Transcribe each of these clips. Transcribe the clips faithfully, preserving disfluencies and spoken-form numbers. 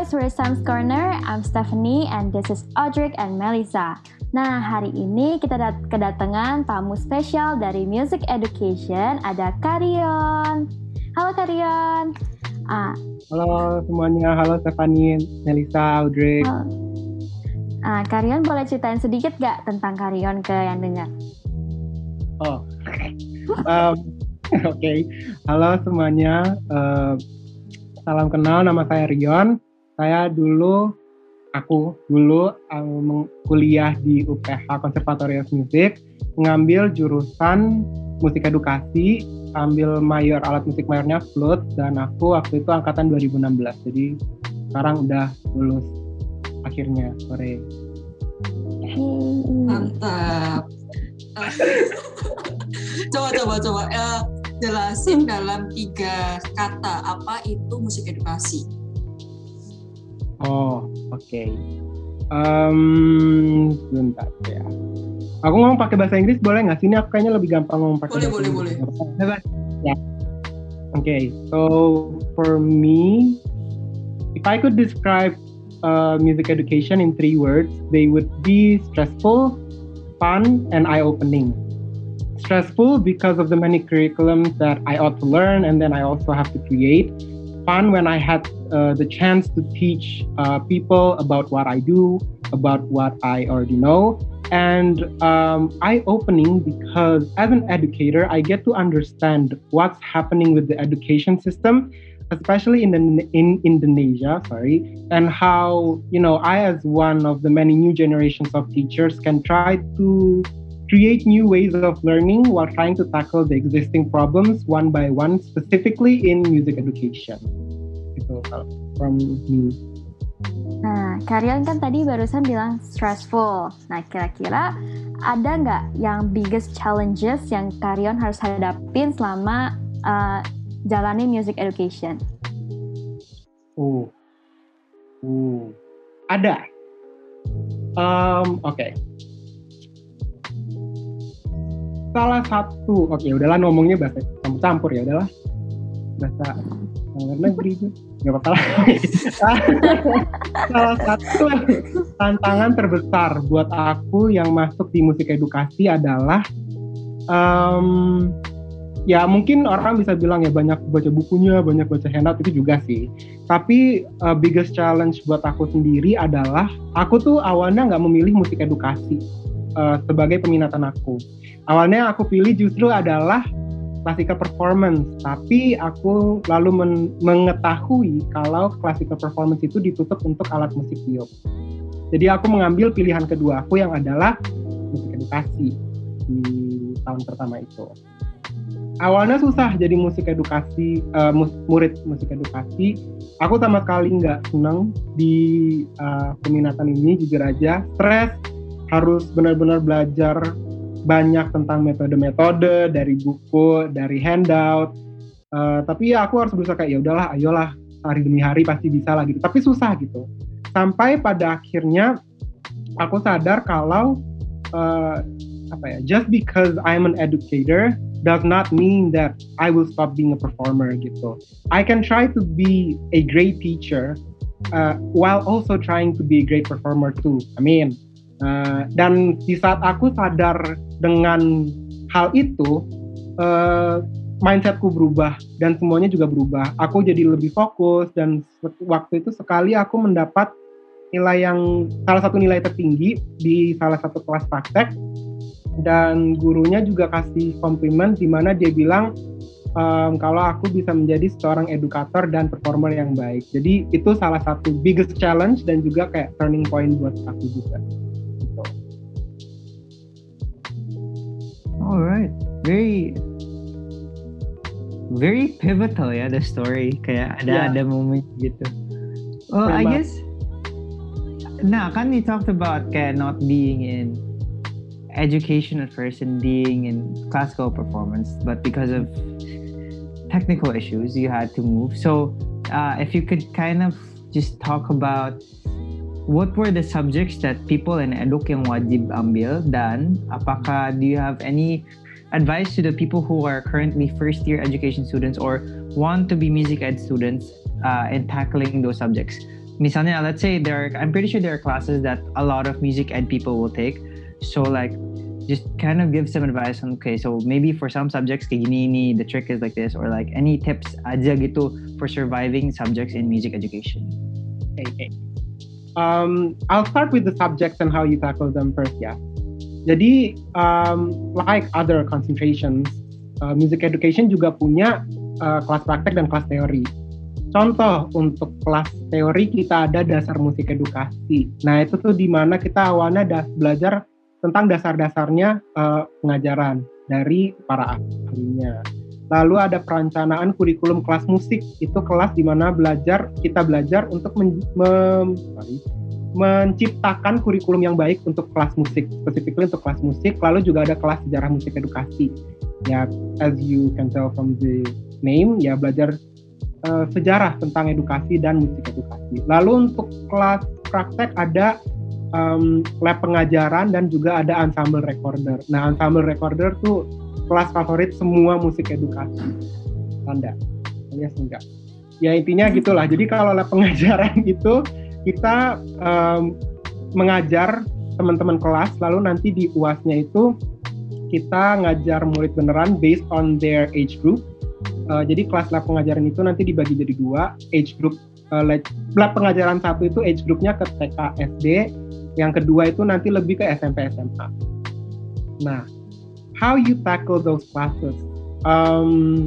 guys, we're Sam's Corner. I'm Stephanie and this is Audric and Melissa. Nah, hari ini kita dat- kedatangan tamu spesial dari Music Education, ada Karion. Halo Karion. Ah. Halo semuanya, halo Stephanie, Melissa, Audric. Halo. Ah, Karion boleh ceritain sedikit gak tentang Karion ke yang dengar? Oh, um, oke. Okay. Halo semuanya. Uh, Salam kenal, nama saya Rion. Saya dulu, aku dulu um, kuliah di U P H Konservatorium Musik, mengambil jurusan musik edukasi, ambil mayor, alat musik mayornya flute, dan aku waktu itu angkatan dua ribu enam belas. Jadi sekarang udah lulus akhirnya sore. Mantap. coba coba coba. Uh, Jelasin dalam tiga kata apa itu musik edukasi. Oh, oke. Okay. Um, sebentar ya. Aku ngomong pakai bahasa Inggris boleh nggak? Sini aku kayaknya lebih gampang ngomong pakai boleh, bahasa boleh, Inggris. Boleh, boleh. Ya. Oke, okay. So for me, if I could describe uh, music education in three words, they would be stressful, fun, and eye-opening. Stressful because of the many curriculums that I ought to learn and then I also have to create. Fun when I had uh, the chance to teach uh, people about what I do, about what I already know. And um, eye-opening because as an educator, I get to understand what's happening with the education system, especially in, the, in Indonesia, sorry, and how, you know, I as one of the many new generations of teachers can try to create new ways of learning while trying to tackle the existing problems one by one, specifically in music education. Itu from me. Nah, Karion kan tadi barusan bilang stressful. Nah, kira-kira ada nggak yang biggest challenges yang Karion harus hadapin selama uh, jalani music education? Oh, uh, ada. Um, Oke. Okay. Salah satu, oke okay, udahlah ngomongnya bahasa campur ya udahlah bahasa luar negeri itu nggak apa-apa lah. Salah satu tantangan terbesar buat aku yang masuk di musik edukasi adalah um, ya mungkin orang bisa bilang ya banyak baca bukunya, banyak baca handout, itu juga sih. Tapi uh, biggest challenge buat aku sendiri adalah aku tuh awalnya nggak memilih musik edukasi uh, sebagai peminatan aku. Awalnya aku pilih justru adalah classical performance, tapi aku lalu men- mengetahui kalau classical performance itu ditutup untuk alat musik biob. Jadi aku mengambil pilihan kedua aku yang adalah musik edukasi di tahun pertama itu. Awalnya susah jadi musik edukasi, uh, mus- murid musik edukasi. Aku sama sekali nggak senang di uh, peminatan ini, jujur aja. Stres, harus benar-benar belajar banyak tentang metode-metode dari buku, dari handout. Uh, tapi ya aku harus berusaha kayak ya udahlah, ayolah hari demi hari pasti bisa lah gitu. Tapi susah gitu. Sampai pada akhirnya aku sadar kalau uh, apa ya, just because I'm an educator does not mean that I will stop being a performer gitu. I can try to be a great teacher uh, while also trying to be a great performer too. I mean, uh, dan di saat aku sadar dengan hal itu, uh, mindsetku berubah dan semuanya juga berubah. Aku jadi lebih fokus dan waktu itu sekali aku mendapat nilai yang salah satu nilai tertinggi di salah satu kelas praktek. Dan gurunya juga kasih komplimen di mana dia bilang um, kalau aku bisa menjadi seorang edukator dan performer yang baik. Jadi itu salah satu biggest challenge dan juga kayak turning point buat aku juga. Gitu. Alright, very very pivotal ya the story, kayak ada yeah. ada momen gitu. Oh, I guess. Nah, kan you talked about kayak not being in education at first and being in classical performance, but because of technical issues you had to move. So uh, if you could kind of just talk about what were the subjects that people in eduk yang wajib ambil, dan apakah do you have any advice to the people who are currently first year education students or want to be music ed students uh, in tackling those subjects? misalnya, let's say there are, I'm pretty sure there are classes that a lot of music ed people will take. So like, just kind of give some advice on, okay, so maybe for some subjects kayak gini ini, the trick is like this, or like any tips aja gitu for surviving subjects in music education. Okay, okay. Um, I'll start with the subjects and how you tackle them first ya. Jadi, um, like other concentrations, uh, music education juga punya uh, kelas praktek dan kelas teori. Contoh untuk kelas teori kita ada dasar musik edukasi. Nah itu tuh di mana kita awalnya das- belajar tentang dasar-dasarnya uh, pengajaran dari para ahlinya. Lalu ada perencanaan kurikulum kelas musik. Itu kelas di mana belajar kita belajar untuk men- mem- sorry, menciptakan kurikulum yang baik untuk kelas musik, specifically untuk kelas musik. Lalu juga ada kelas sejarah musik edukasi. Ya, as you can tell from the name, ya belajar Uh, sejarah tentang edukasi dan musik edukasi. Lalu untuk kelas praktek ada um, lab pengajaran dan juga ada ensemble recorder. Nah, ensemble recorder tuh kelas favorit semua musik edukasi. Tanda, alias enggak. Ya intinya gitulah. Jadi kalau lab pengajaran itu kita um, mengajar teman-teman kelas, lalu nanti di U A S-nya itu kita ngajar murid beneran based on their age group. Uh, jadi kelas lab pengajaran itu nanti dibagi jadi dua, age group uh, lab pengajaran satu itu age groupnya ke T K S D, yang kedua itu nanti lebih ke S M P S M A. Nah, how you tackle those classes? Um,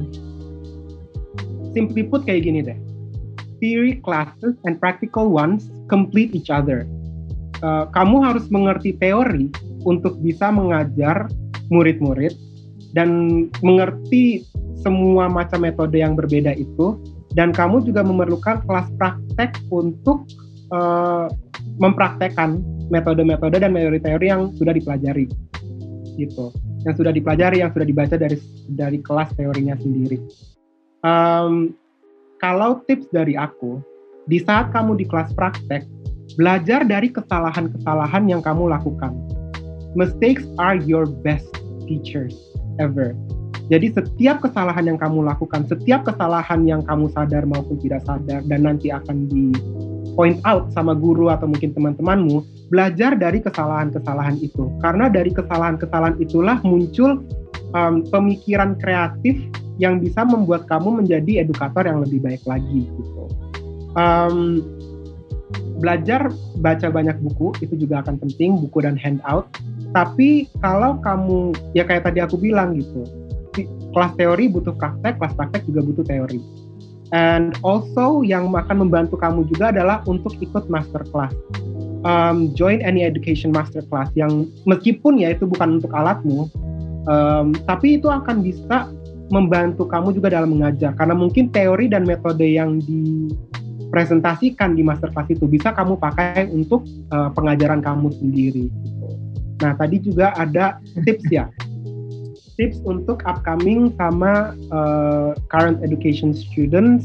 simply put kayak gini deh, theory classes and practical ones complete each other. Uh, kamu harus mengerti teori untuk bisa mengajar murid-murid dan mengerti semua macam metode yang berbeda itu, dan kamu juga memerlukan kelas praktek untuk uh, mempraktekkan metode-metode dan teori-teori yang sudah dipelajari, gitu, yang sudah dipelajari, yang sudah dibaca dari dari kelas teorinya sendiri. Um, kalau tips dari aku, di saat kamu di kelas praktek, belajar dari kesalahan-kesalahan yang kamu lakukan. Mistakes are your best teachers ever. Jadi setiap kesalahan yang kamu lakukan, setiap kesalahan yang kamu sadar maupun tidak sadar, dan nanti akan di point out sama guru atau mungkin teman-temanmu, belajar dari kesalahan-kesalahan itu. Karena dari kesalahan-kesalahan itulah muncul um, pemikiran kreatif yang bisa membuat kamu menjadi edukator yang lebih baik lagi. Gitu. Um, belajar baca banyak buku, itu juga akan penting, buku dan handout. Tapi kalau kamu, ya kayak tadi aku bilang gitu, kelas teori butuh praktek, kelas praktek juga butuh teori. And also yang akan membantu kamu juga adalah untuk ikut master class. Um, join any education master class yang meskipun ya itu bukan untuk alatmu, um, tapi itu akan bisa membantu kamu juga dalam mengajar. Karena mungkin teori dan metode yang dipresentasikan di master class itu bisa kamu pakai untuk uh, pengajaran kamu sendiri. Gitu. Nah tadi juga ada tips ya. Tips untuk upcoming sama uh, current education students.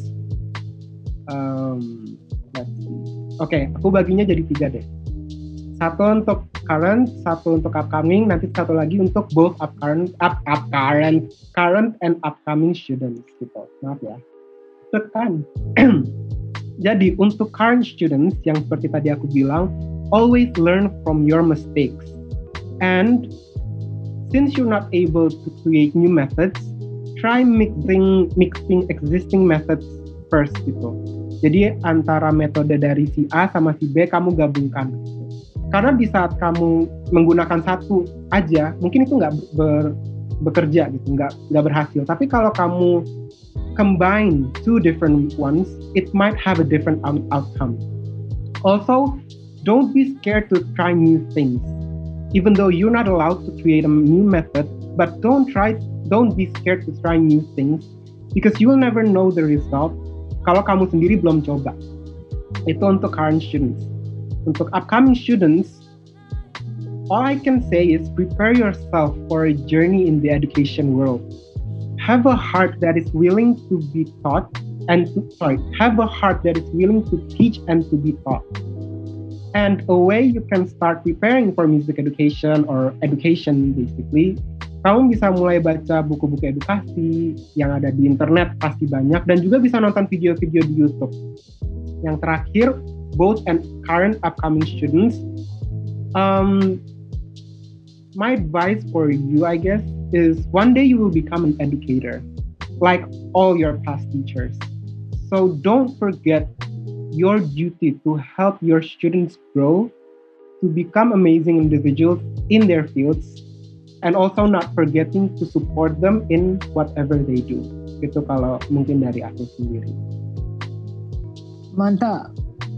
Um, let's see. Oke, okay, aku baginya jadi tiga deh. Satu untuk current, satu untuk upcoming, nanti satu lagi untuk both up current, up, up current, current and upcoming students. Gitu. Maaf ya. Tekan. Jadi untuk current students yang seperti tadi aku bilang, always learn from your mistakes. And since you're not able to create new methods, try mixing mixing existing methods first gitu. Jadi antara metode dari si A sama si B kamu gabungkan. Karena di saat kamu menggunakan satu aja, mungkin itu nggak ber, bekerja gitu, nggak nggak berhasil. Tapi kalau kamu combine two different ones, it might have a different out- outcome. Also, don't be scared to try new things. Even though you're not allowed to create a new method, but don't try, don't be scared to try new things because you will never know the result kalau kamu sendiri belum coba. Itu untuk current students. Untuk upcoming students, all I can say is prepare yourself for a journey in the education world. Have a heart that is willing to be taught and to, sorry, have a heart that is willing to teach and to be taught. And a way you can start preparing for music education or education basically, kamu bisa mulai baca buku-buku edukasi yang ada di internet pasti banyak, dan juga bisa nonton video-video di YouTube. Yang terakhir, both and current upcoming students, um, my advice for you, I guess, is one day you will become an educator, like all your past teachers. So don't forget your duty to help your students grow, to become amazing individuals in their fields, and also not forgetting to support them in whatever they do. Itu kalau mungkin dari aku sendiri. Mantap.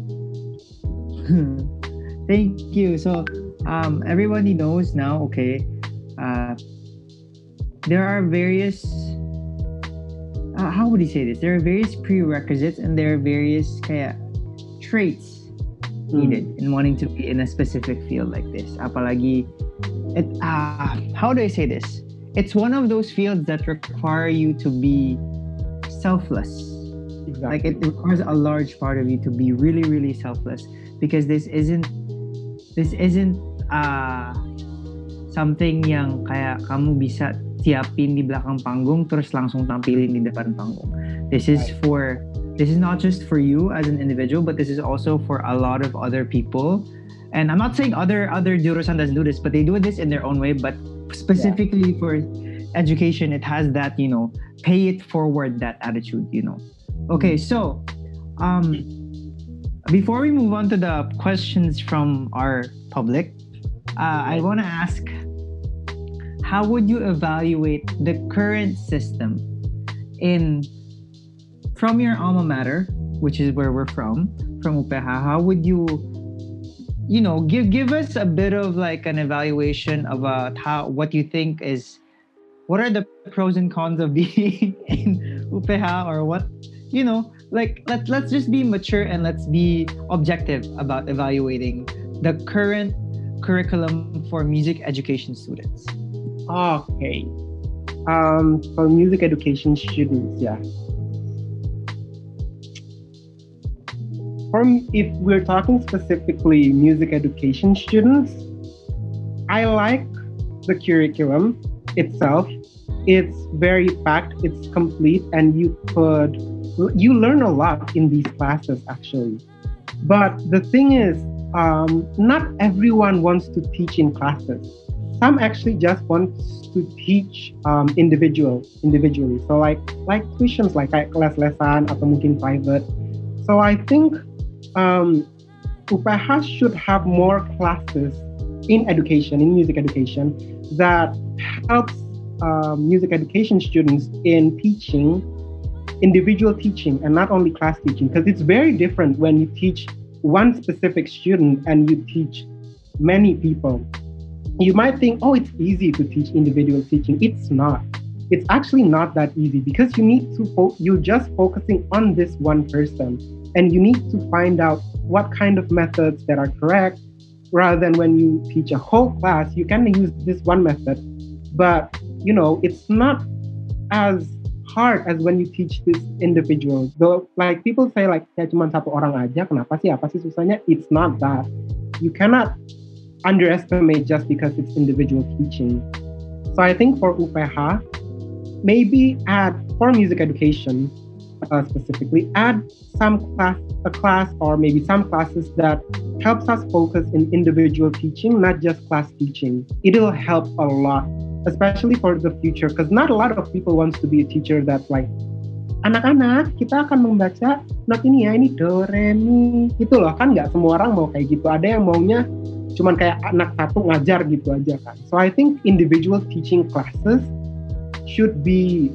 Thank you. So um, everybody knows now, okay, uh, there are various, uh, how would you say this? There are various prerequisites and there are various kaya, traits needed mm. in wanting to be in a specific field like this. Apalagi, it, uh, how do I say this? It's one of those fields that require you to be selfless. Exactly. Like it requires a large part of you to be really, really selfless, because this isn't this isn't uh, something yang kaya kamu bisa siapin di belakang panggung terus langsung tampilin di depan panggung. This is right. for this is not just for you as an individual, but this is also for a lot of other people. And I'm not saying other other jurusan doesn't do this, but they do this in their own way. But specifically yeah. for education, it has that, you know, pay it forward, that attitude, you know. Okay, so um, before we move on to the questions from our public, uh, I want to ask, how would you evaluate the current system in from your alma mater, which is where we're from, from U P H? How would you, you know, give give us a bit of like an evaluation about how what you think is, what are the pros and cons of being in U P H, or what, you know, like let let's just be mature and let's be objective about evaluating the current curriculum for music education students. Okay, um, for music education students, yeah. For if we're talking specifically music education students, I like the curriculum itself. It's very packed, it's complete, and you could you learn a lot in these classes actually. But the thing is, um, not everyone wants to teach in classes. Some actually just want to teach um, individual individually. So like like tuitions, like kayak kelas-lesan atau mungkin private. So I think um, U P H should have more classes in education, in music education, that helps uh, music education students in teaching, individual teaching, and not only class teaching. Because it's very different when you teach one specific student and you teach many people. You might think, oh, it's easy to teach individual teaching. It's not. It's actually not that easy, because you need to, fo- you're just focusing on this one person. And you need to find out what kind of methods that are correct, rather than when you teach a whole class, you can use this one method. But, you know, it's not as hard as when you teach this individual. Though, like people say, like, ya cuma satu orang aja, kenapa sih, apa sih susahnya? It's not that. You cannot underestimate just because it's individual teaching. So I think for U P H, maybe add, for music education, Uh, specifically, add some class, a class or maybe some classes that helps us focus in individual teaching, not just class teaching. It'll help a lot, especially for the future, because not a lot of people wants to be a teacher that's like, anak-anak, kita akan membaca not ini ya, ini do, re, mi, gitu loh. Kan nggak semua orang mau kayak gitu. Ada yang maunya cuman kayak anak satu ngajar gitu aja kan. So I think individual teaching classes should be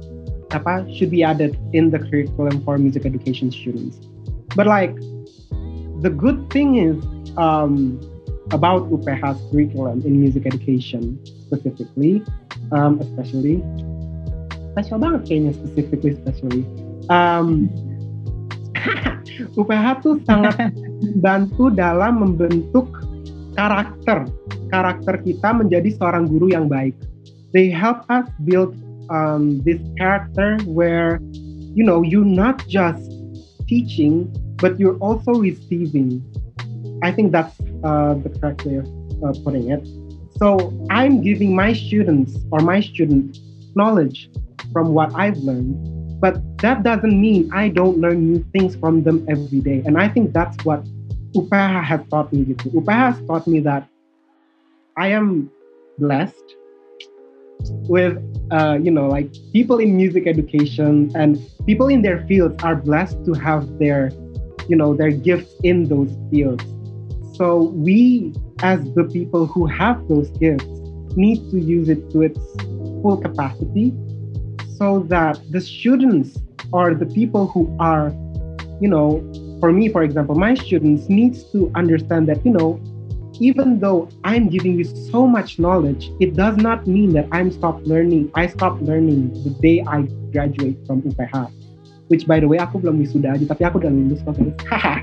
apa should be added in the curriculum for music education students. But like the good thing is um, about U P H's curriculum in music education specifically, um, especially special banget kayaknya specifically especially um, U P H tuh sangat membantu dalam membentuk karakter karakter kita menjadi seorang guru yang baik. They help us build Um, this character where, you know, you're not just teaching, but you're also receiving. I think that's uh, the correct way of uh, putting it. So I'm giving my students or my students knowledge from what I've learned, But that doesn't mean I don't learn new things from them every day. And I think that's what U P H has taught me. Gitu. U P H has taught me that I am blessed with, uh, you know, like people in music education and people in their fields are blessed to have their, you know, their gifts in those fields. So we, as the people who have those gifts, need to use it to its full capacity, so that the students or the people who are, you know, for me, for example, my students needs to understand that, you know, even though I'm giving you so much knowledge, it does not mean that I'm stopped learning. I stopped learning the day I graduate from U P H. Which, by the way, aku belum wisuda aja, tapi aku udah lulus kok guys. Haha.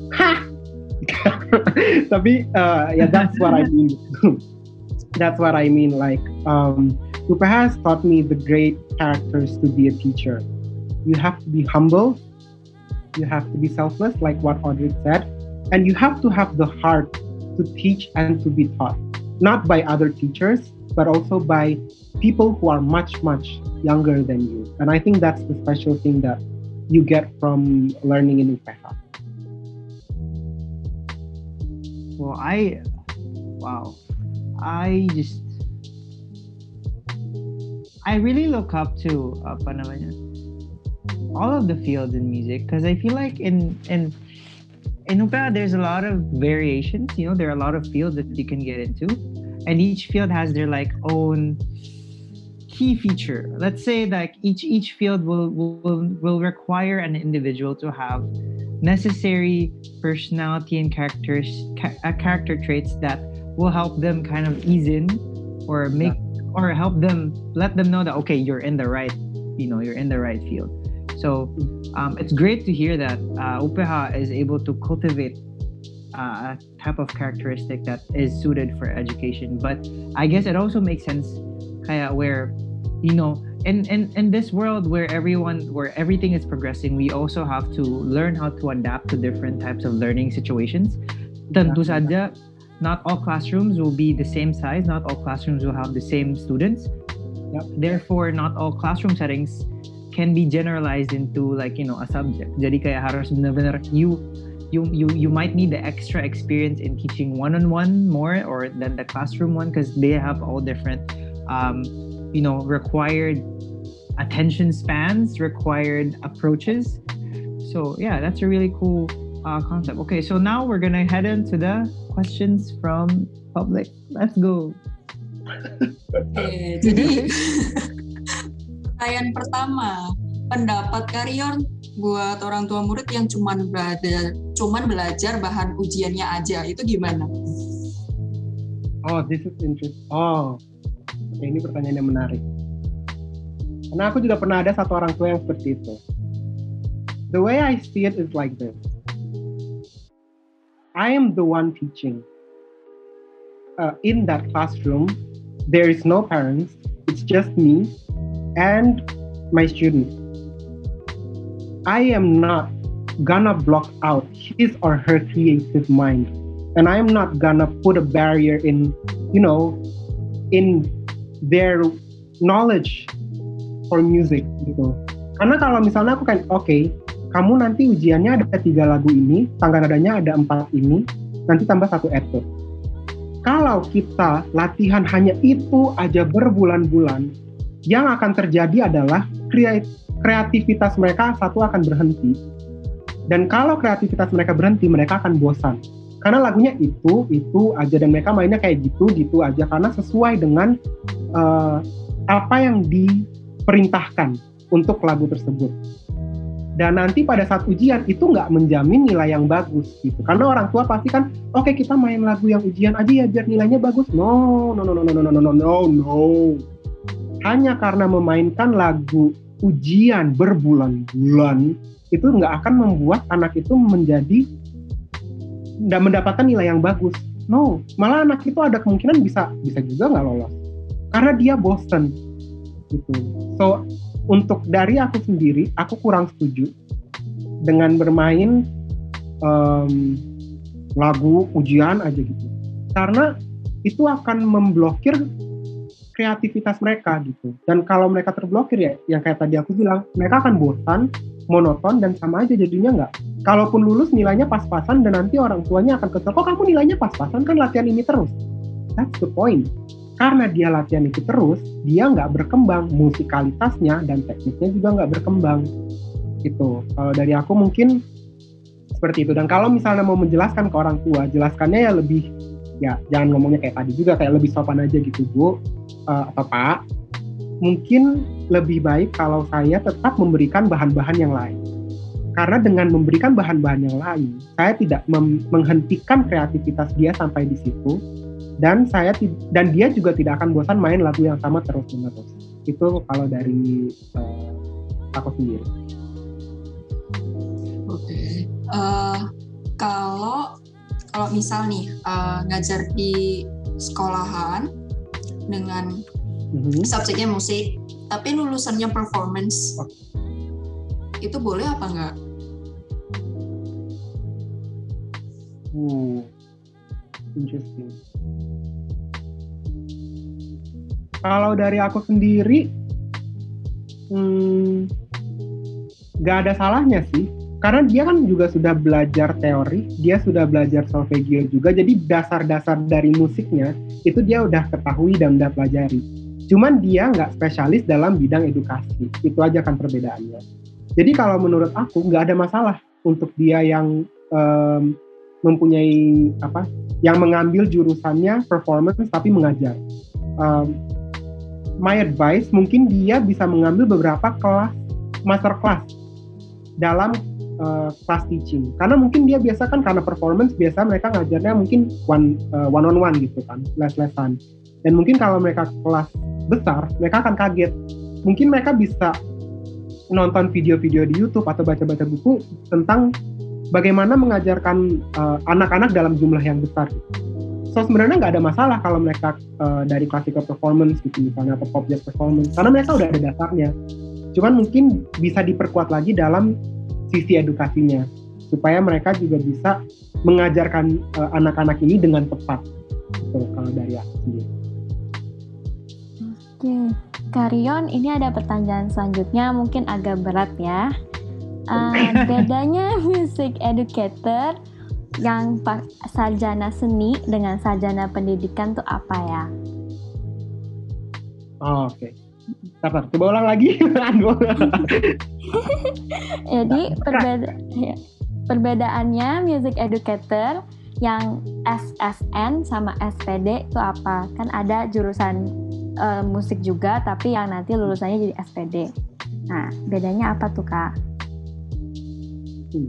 Tapi, uh, yeah, that's what I mean. That's what I mean. Like, um, U P H has taught me the great characters to be a teacher. You have to be humble. You have to be selfless, like what Audrey said. And you have to have the heart to teach and to be taught. Not by other teachers, but also by people who are much, much younger than you. And I think that's the special thing that you get from learning in U P H. Well, I, wow, I just, I really look up to apa namanya, all of the fields in music, because I feel like in in in U P H there's a lot of variations. You know, there are a lot of fields that you can get into, and each field has their like own key feature. Let's say like each each field will will will require an individual to have necessary personality and characters ca- uh, character traits that will help them kind of ease in or make yeah. or help them let them know that okay, you're in the right, you know, you're in the right field. So um, it's great to hear that uh, U P H is able to cultivate uh, a type of characteristic that is suited for education. But I guess it also makes sense kaya where, you know, in, in, in this world where everyone, where everything is progressing, we also have to learn how to adapt to different types of learning situations. Tentu saja, not all classrooms will be the same size, not all classrooms will have the same students. Yep. Therefore, not all classroom settings can be generalized into like, you know, a subject. Jadi kayak harus benar-benar you you you you might need the extra experience in teaching one-on-one more or than the classroom one, because they have all different um, you know, required attention spans, required approaches. So yeah, that's a really cool uh, concept. Okay, so now we're gonna head into the questions from public. Let's go. Oke, jadi pertanyaan pertama, pendapat Karyon buat orang tua murid yang cuman belajar, cuman belajar bahan ujiannya aja, itu gimana? Oh, this is interesting. Oh, oke, ini pertanyaan yang menarik. Karena aku juga pernah ada satu orang tua yang seperti itu. The way I see it is like this. I am the one teaching. Uh, in that classroom, there is no parents. It's just me and my student. I am not gonna block out his or her creative mind. And I am not gonna put a barrier in, you know, in their knowledge for music gitu. Karena kalau misalnya aku kan, oke, okay, kamu nanti ujiannya ada tiga lagu ini, tangga nadanya ada empat ini, nanti tambah satu etude. Kalau kita latihan hanya itu aja berbulan-bulan, yang akan terjadi adalah kreativitas mereka satu akan berhenti. Dan kalau kreativitas mereka berhenti, mereka akan bosan. Karena lagunya itu, itu aja, dan mereka mainnya kayak gitu, gitu aja. Karena sesuai dengan uh, apa yang diperintahkan untuk lagu tersebut. Dan nanti pada saat ujian, itu nggak menjamin nilai yang bagus. Gitu. Karena orang tua pasti kan, oke okay, kita main lagu yang ujian aja ya, biar nilainya bagus. No, no, no, no, no, no, no, no, no, no. Hanya karena memainkan lagu ujian berbulan-bulan, itu nggak akan membuat anak itu menjadi nggak mendapatkan nilai yang bagus. No, malah anak itu ada kemungkinan bisa bisa juga nggak lolos karena dia bosen gitu. So untuk dari aku sendiri, aku kurang setuju dengan bermain um, lagu ujian aja gitu, karena itu akan memblokir kreativitas mereka gitu. Dan kalau mereka terblokir ya, yang kayak tadi aku bilang, mereka akan bosan, monoton, dan sama aja jadinya nggak. Kalaupun lulus nilainya pas-pasan dan nanti orang tuanya akan kesel, kok kamu nilainya pas-pasan, kan latihan ini terus. That's the point. Karena dia latihan itu terus, dia nggak berkembang, musikalitasnya dan tekniknya juga nggak berkembang. Gitu. Kalau dari aku mungkin seperti itu. Dan kalau misalnya mau menjelaskan ke orang tua, jelaskannya ya lebih, ya jangan ngomongnya kayak tadi juga, kayak lebih sopan aja gitu, Bu uh, atau Pak. Mungkin lebih baik kalau saya tetap memberikan bahan-bahan yang lain. Karena dengan memberikan bahan-bahan yang lain, saya tidak mem- menghentikan kreativitas dia sampai di situ. Dan saya dan dia juga tidak akan bosan main lagu yang sama terus-menerus. Itu kalau dari uh, aku sendiri. Oke. Okay. Uh, kalau kalau misal nih uh, ngajar di sekolahan dengan mm-hmm. subjeknya musik, tapi lulusannya performance, oh. itu boleh apa enggak? Hmm, interesting. Kalau dari aku sendiri, hmm, gak ada salahnya sih. Karena dia kan juga sudah belajar teori, dia sudah belajar solfeggio juga, jadi dasar-dasar dari musiknya itu dia udah ketahui dan udah pelajari. Cuman dia nggak spesialis dalam bidang edukasi, itu aja kan perbedaannya. Jadi kalau menurut aku nggak ada masalah untuk dia yang um, mempunyai apa, yang mengambil jurusannya performance tapi mengajar. Um, my advice mungkin dia bisa mengambil beberapa kelas, master class dalam Uh, class teaching, karena mungkin dia biasa kan karena performance biasa mereka ngajarnya mungkin one uh, one on one gitu kan, les-lesan, dan mungkin kalau mereka kelas besar mereka akan kaget, mungkin mereka bisa nonton video-video di YouTube atau baca-baca buku tentang bagaimana mengajarkan uh, anak-anak dalam jumlah yang besar gitu. So sebenarnya nggak ada masalah kalau mereka uh, dari classical performance gitu misalnya atau pop jazz performance, karena mereka udah ada dasarnya, cuman mungkin bisa diperkuat lagi dalam sisi edukasinya supaya mereka juga bisa mengajarkan uh, anak-anak ini dengan tepat. Gitu, kalau dari aku sendiri. Oke, Karyon, ini ada pertanyaan selanjutnya mungkin agak berat ya. Uh, bedanya music educator yang sarjana seni dengan sarjana pendidikan tuh apa ya? Oh, oke. Okay. Sabar, coba ulang lagi. Jadi perbeda, ya, perbedaannya music educator yang S S N sama S P D itu apa? Kan ada jurusan uh, musik juga, tapi yang nanti lulusannya jadi S P D. Nah, bedanya apa tuh, Kak? Hmm.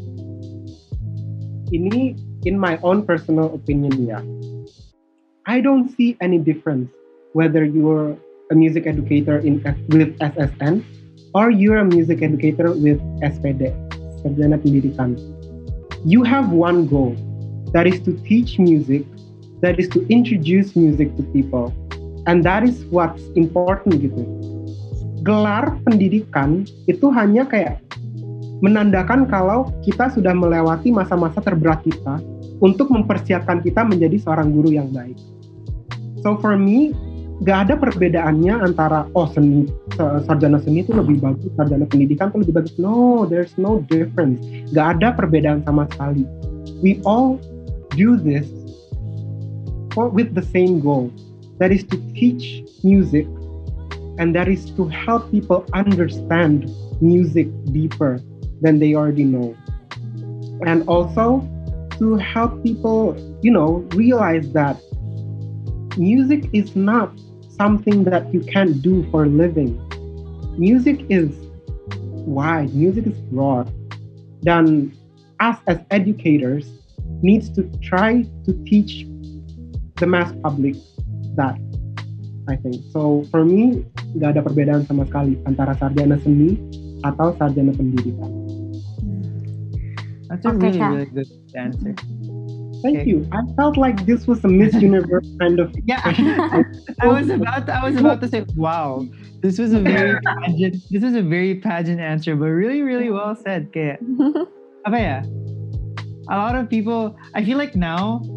Ini in my own personal opinion ya. I don't see any difference whether you're a music educator in with S S N or you're a music educator with S P D, sarjana pendidikan. You have one goal, that is to teach music, that is to introduce music to people, and that is what's important gitu. Gelar pendidikan itu hanya kayak menandakan kalau kita sudah melewati masa-masa terberat kita untuk mempersiapkan kita menjadi seorang guru yang baik. So for me, gak ada perbedaannya antara oh seni, sarjana seni itu lebih bagus, sarjana pendidikan itu lebih bagus. No, there's no difference. Gak ada perbedaan sama sekali. We all do this for, with the same goal. That is to teach music, and that is to help people understand music deeper than they already know. And also to help people, you know, realize that music is not something that you can't do for a living. Music is wide, music is broad. Dan us as educators needs to try to teach the mass public that, I think. So for me, gak ada perbedaan sama sekali antara sarjana seni atau sarjana pendidikan. That's a okay, really, really good answer. Thank okay. you. I felt like this was a Miss Universe kind of. Yeah, I was about to, I was about to say, wow, this was a very pageant. This was a very pageant answer, but really, really well said. Kayak, apa ya? A lot of people, I feel like now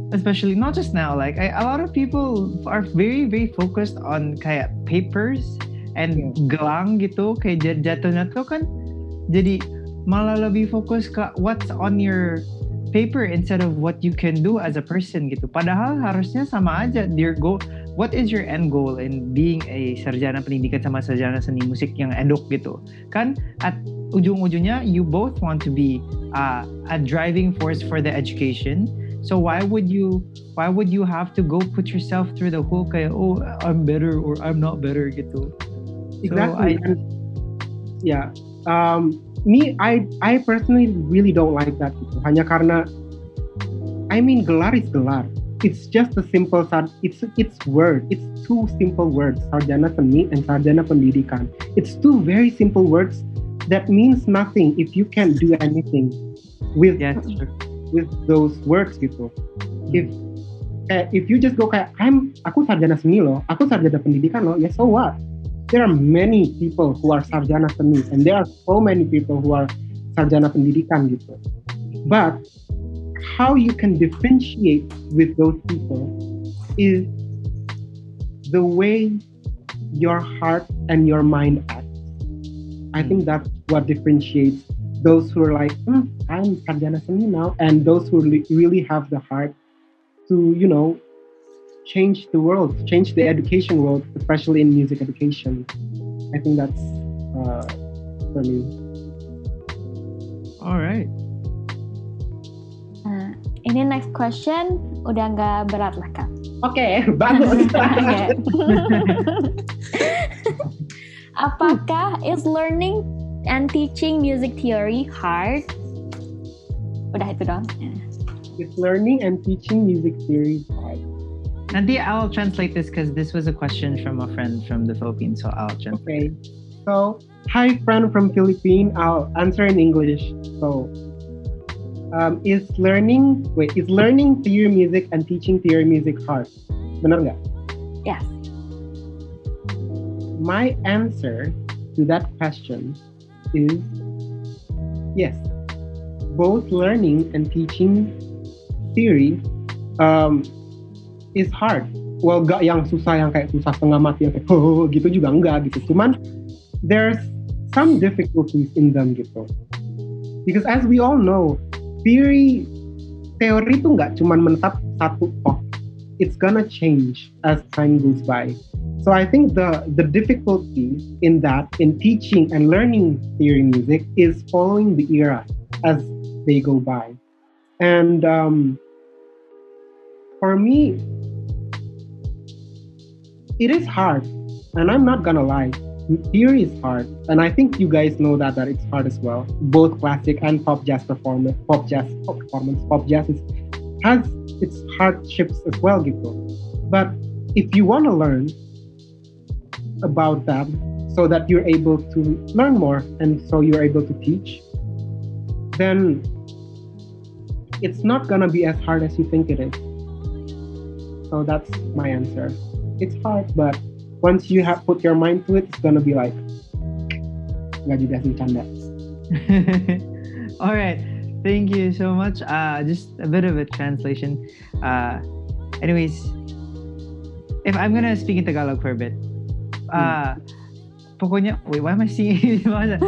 especially not just now, like I, a lot of people are very very focused on kayak papers and yeah. gelang gitu, kayak jatuhnya tuh kan jadi malah lebih fokus ke what's on your paper instead of what you can do as a person gitu. Padahal harusnya sama aja. Your goal, what is your end goal in being a sarjana pendidikan sama sarjana seni musik yang eduk gitu? Kan at ujung-ujungnya you both want to be uh, a driving force for the education. So why would you why would you have to go put yourself through the whole kayak oh I'm better or I'm not better gitu? Exactly. So I, yeah. Um, me, I I personally really don't like that gitu. Hanya karena, I mean gelar is gelar. It's just a simple it's it's word. It's two simple words, sarjana seni and sarjana pendidikan. It's two very simple words that means nothing if you can't do anything with yeah, that's true. with those words gitu. If eh, if you just go kayak I'm aku sarjana seni loh, aku sarjana pendidikan loh, ya so what? There are many people who are sarjana seni and there are so many people who are sarjana pendidikan gitu. But how you can differentiate with those people is the way your heart and your mind act. I think that's what differentiates those who are like, hmm, I'm sarjana seni now, and those who really have the heart to, you know, change the world, change the education world, especially in music education. I think that's uh, for me. All right. Uh, ini next question udah nggak berat lah Kak. Oke, okay, bagus. Okay. Apakah is learning and teaching music theory hard? Udah itu dong. Is learning and teaching music theory hard? Nanti I'll translate this because this was a question from a friend from the Philippines, so I'll translate. Okay. So, hi friend from Philippines. I'll answer in English. So, um, is learning wait is learning theory music and teaching theory music hard? Benar nggak? Yes. My answer to that question is yes. Both learning and teaching theory um, is hard. Well, gak yang susah yang kayak susah setengah mati yang kayak oh gitu juga enggak gitu. Cuman there's some difficulties in them gitu. Because as we all know, theory teori itu nggak cuma menetap satu pot. It's gonna change as time goes by. So I think the the difficulty in that in teaching and learning theory music is following the era as they go by. And um, for me, it is hard, and I'm not gonna lie. Theory is hard, and I think you guys know that that it's hard as well. Both classic and pop jazz performance, pop jazz pop performance, pop jazz is, has its hardships as well, gitu. But if you want to learn about them, so that you're able to learn more, and so you're able to teach, then it's not gonna be as hard as you think it is. So that's my answer. It's hard, but once you have put your mind to it, it's gonna be like nggak juga sih canda. All right, thank you so much. Uh, just a bit of a translation. Uh, anyways, if I'm gonna speak in Tagalog for a bit, uh, hmm. pokoknya wait, why am I singing? uh,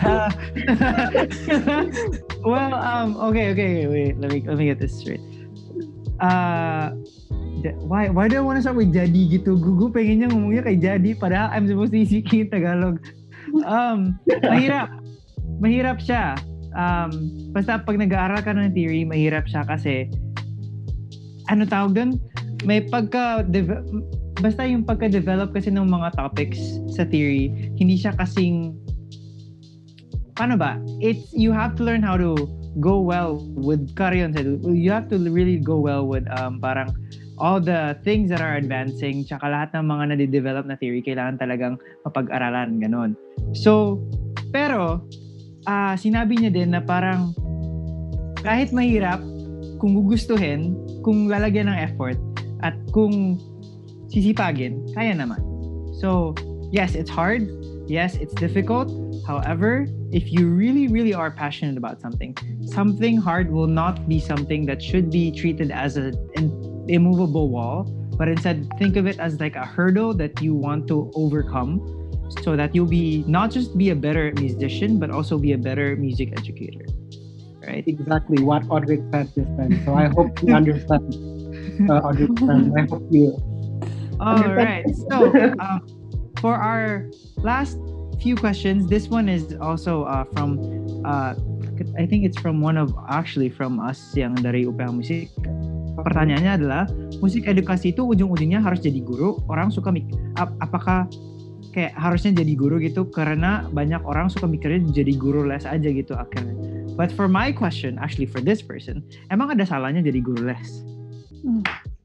well, um, okay, okay, okay, wait, let me let me get this straight. Uh, Why why do I want to start with jadi gitu? Gue pengennya ngomongnya kayak jadi, padahal I'm supposed to be speaking Tagalog. Um, mahirap. Mahirap siya. Um, basta pag nag-aaral ka ng theory, mahirap siya kasi ano tawag doon? May pagka de- basta yung pagka-develop kasi ng mga topics sa theory, hindi siya kasing paano ba? It's you have to learn how to go well with Karyon said. You have to really go well with um parang all the things that are advancing, tsaka lahat ng mga nade-develop na theory, kailangan talagang mapag-aralan, ganon. So, pero, uh, sinabi niya din na parang, kahit mahirap, kung gugustuhin, kung lalagyan ng effort, at kung sisipagin, kaya naman. So, yes, it's hard, Yes, it's difficult. However, if you really, really are passionate about something, something hard will not be something that should be treated as an immovable wall, but instead think of it as like a hurdle that you want to overcome so that you'll be not just be a better musician, but also be a better music educator. Right? Exactly what Audric said this time. So I hope you understand, uh, Audric. I hope you. All right. So um, for our last few questions, this one is also uh, from, uh, I think it's from one of actually from us yang dari U P H Musik. Pertanyaannya adalah, musik edukasi itu ujung-ujungnya harus jadi guru. Orang suka mik, ap- apakah kayak harusnya jadi guru gitu? Karena banyak orang suka mikirnya jadi guru les aja gitu akhirnya. But for my question, actually for this person, emang ada salahnya jadi guru les? Hmm.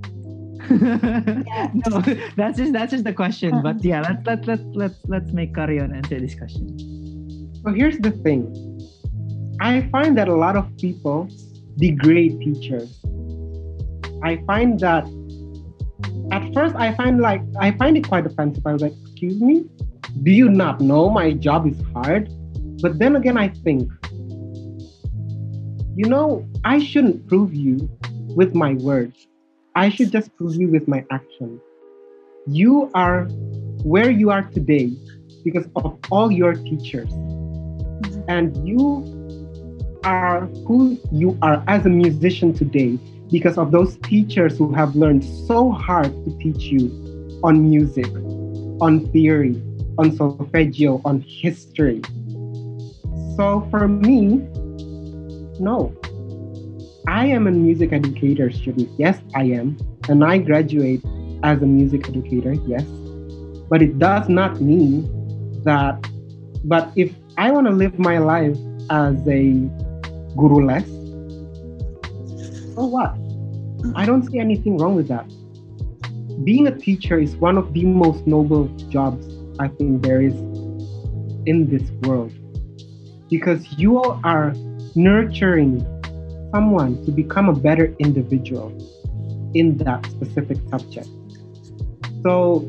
No, that's just that's just the question. But yeah, let's let let let's let's make Karyon answer this question. So here's the thing. I find that a lot of people degrade teachers. I find that at first I find like I find it quite offensive. I was like, excuse me, do you not know my job is hard? But then again, I think, you know, I shouldn't prove you with my words. I should just prove you with my action. You are where you are today because of all your teachers. And you are who you are as a musician today because of those teachers who have learned so hard to teach you on music, on theory, on solfeggio, on history. So for me, no. I am a music educator student. Yes, I am. And I graduate as a music educator, yes. But it does not mean that, but if I want to live my life as a guru les, so what? I don't see anything wrong with that. Being a teacher is one of the most noble jobs I think there is in this world. Because you are nurturing someone to become a better individual in that specific subject. So,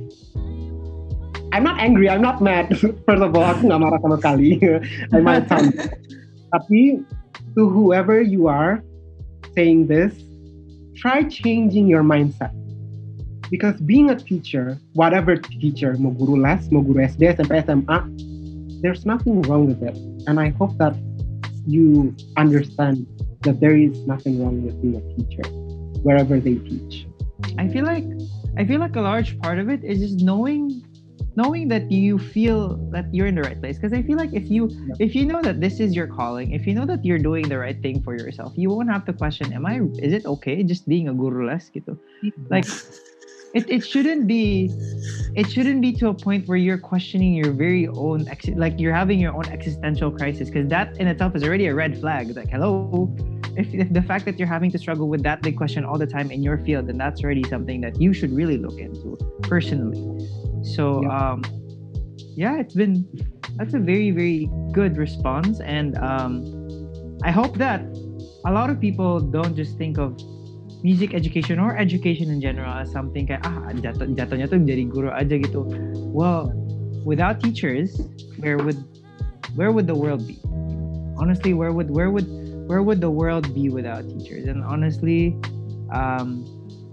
I'm not angry, I'm not mad. First of all, aku nggak marah sama sekali. I might sound. Tapi, to whoever you are saying this, try changing your mindset. Because being a teacher, whatever teacher, mau guru les, mau guru S D, S M P, S M A, there's nothing wrong with it. And I hope that you understand that there is nothing wrong with being a teacher wherever they teach. I feel like I feel like a large part of it is just knowing knowing that you feel that you're in the right place. Because I feel like if you Yeah. if you know that this is your calling, if you know that you're doing the right thing for yourself, you won't have to question, am I is it okay just being a guru les gitu? Like it, it shouldn't be it shouldn't be to a point where you're questioning your very own ex- like you're having your own existential crisis, because that in itself is already a red flag. It's like, hello, if, if the fact that you're having to struggle with that big question all the time in your field, then that's already something that you should really look into personally. So Yeah. um yeah, it's been that's a very very good response, and um I hope that a lot of people don't just think of music education or education in general as something kayak ah jatuh jatuhnya tuh jadi guru aja gitu. Well, without teachers, where would where would the world be? Honestly, where would where would where would the world be without teachers? And honestly, um,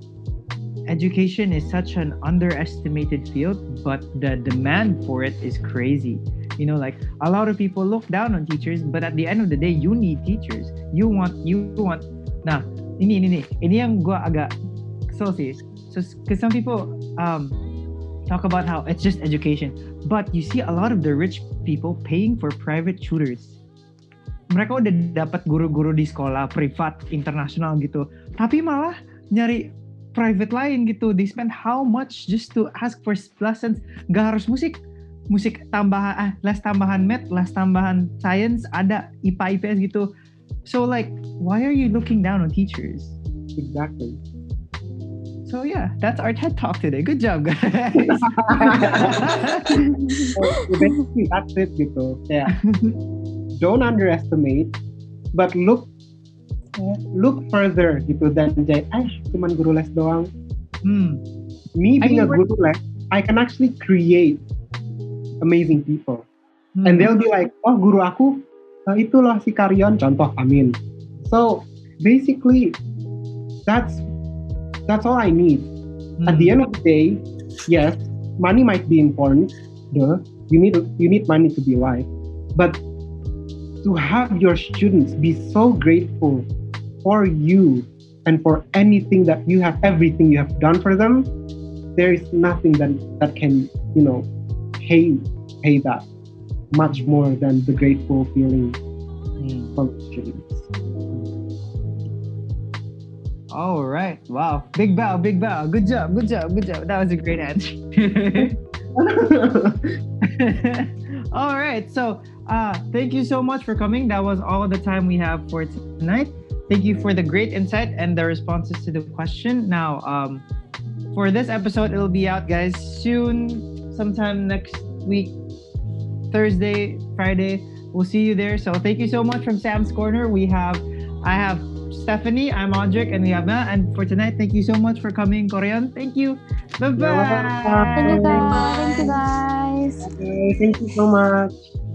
education is such an underestimated field, but the demand for it is crazy. You know, like a lot of people look down on teachers, but at the end of the day, you need teachers. You want you want. Nah, ini ini ini ini yang gue agak kesel sih. So, because some people um talk about how it's just education, but you see a lot of the rich people paying for private tutors. Mereka udah dapat guru-guru di sekolah privat internasional gitu, tapi malah nyari private lain gitu. They spend how much just to ask for lessons? Gak harus musik, musik tambahan, ah, les tambahan math, les tambahan science, ada I P A I P S gitu. So like, why are you looking down on teachers? Exactly. So yeah, that's our TED Talk today. Good job, guys. So, basically, that's it gitu. Yeah. Don't underestimate, but look look further gitu than just, ay, cuman guru les doang. Hmm. Me I being mean, a guru les, I can actually create amazing people. Hmm. And they'll be like, oh guru aku, uh, itu loh si Karyon, contoh Amin. So basically, that's that's all I need. Hmm. At the end of the day, yes, money might be important. Duh, you need you need money to be alive. But to have your students be so grateful for you and for anything that you have, everything you have done for them, there is nothing that that can, you know, pay pay that much more than the grateful feeling Hmm. from students. All right. Wow. Big bow, big bow. Good job, good job, good job. That was a great answer. All right. So, uh, thank you so much for coming. That was all the time we have for tonight. Thank you for the great insight and the responses to the question. Now, um, for this episode, it'll be out, guys, soon, sometime next week, Thursday, Friday. We'll see you there. So, thank you so much from Sam's Corner. We have, I have Stephanie, I'm Audric, and we have Mel. And for tonight, thank you so much for coming, Koryan. Thank you. Bye-bye. Thank you guys. Thank you guys. Okay, thank you so much.